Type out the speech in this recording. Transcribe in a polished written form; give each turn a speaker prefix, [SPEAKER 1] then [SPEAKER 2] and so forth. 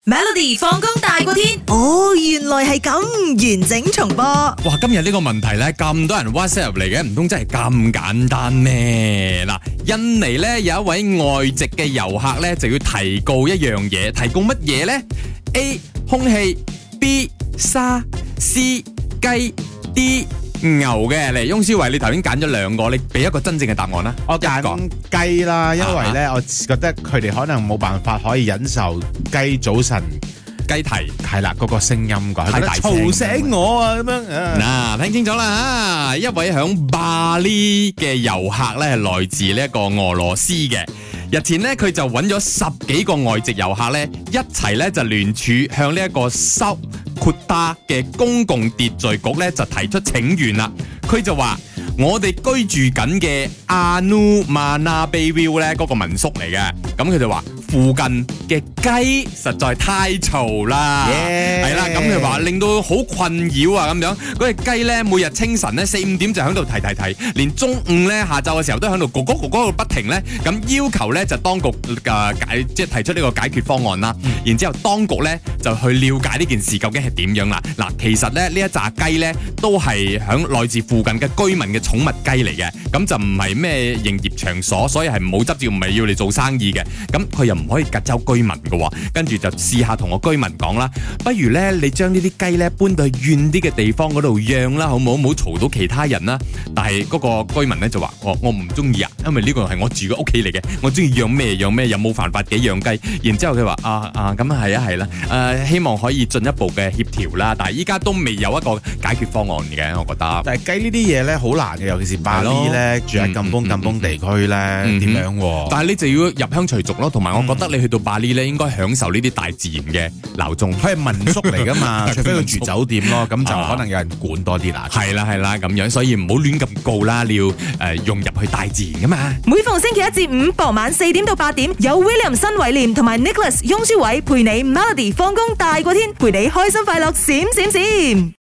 [SPEAKER 1] Melody 放工大過天，
[SPEAKER 2] 哦，原來係咁，完整重播。
[SPEAKER 3] 哇，今日呢個問題呢，咁多人 WhatsApp 入嚟嘅，唔通真係咁簡單咩？嗱，印尼呢有一位外籍嘅遊客呢，就要提告一樣嘢，提告乜嘢呢？ A 空氣 B 沙 C 雞 D 牛嘅。嚟，翁思維，你頭先揀咗兩個，你俾一個真正嘅答案啦。
[SPEAKER 4] 我揀雞啦，因為咧，我覺得佢哋可能冇辦法可以忍受雞早晨
[SPEAKER 3] 雞啼
[SPEAKER 4] 係啦嗰個聲音㗎，
[SPEAKER 3] 係啦
[SPEAKER 4] 嘈醒我啊咁樣。
[SPEAKER 3] 嗱，聽清楚啦，一位響巴厘嘅遊客咧，係來自呢一個俄羅斯嘅。日前呢，佢就揾咗10幾個外籍遊客咧，一齊咧就聯署向呢一個蘇括達嘅公共秩序局咧就提出請願啦。佢就話：我哋居住緊嘅阿努曼納貝 view 咧嗰個民宿嚟嘅，咁佢就話附近嘅雞實在太嘈啦，係啦，咁佢話令到好困擾啊咁樣。嗰隻雞咧每日清晨咧4、5點就喺度啼，連中午咧下晝嘅時候都喺度咕咕咕不停咧，咁要求咧就當局即係提出呢個解決方案啦。然之後當局咧就去了解呢件事究竟係點樣啦。嗱，其實咧呢一紮雞咧都係響來自附近嘅居民嘅寵物雞嚟嘅，咁就唔係咩營業場所，所以係冇執照，唔係要嚟做生意嘅。咁佢又唔可以隔走居民嘅喎，跟住就試下同個居民講啦，不如咧你將呢啲雞咧搬到去遠啲嘅地方嗰度養啦，好唔好？唔好嘈到其他人啦。但係嗰個居民咧就話：我唔中意啊，因為呢個係我住嘅屋企嚟嘅，我中意養咩養咩，又冇犯法嘅養雞。然之後佢話：咁係啦，希望可以進一步嘅協調啦。但係依家都未有一個解決方案嘅，我覺得。
[SPEAKER 4] 但係雞呢啲嘢咧好難嘅，尤其是巴厘咧住喺咁崩地區咧，點樣？
[SPEAKER 3] 但係你就要入鄉隨俗咯，同埋我覺得你去到巴厘咧，應該享受呢啲大自然嘅鬧鐘。
[SPEAKER 4] 佢係民宿嚟噶嘛，除非佢住酒店咯，咁就可能有人管多啲啦。
[SPEAKER 3] 係啦，咁樣，所以唔好亂咁告啦，你要融入去大自然噶嘛。
[SPEAKER 1] 每逢星期一至五傍晚4點到8點，有 William 新偉廉同埋 Nicholas 雍舒偉陪你 Melody 放工大過天，陪你開心快樂閃閃閃。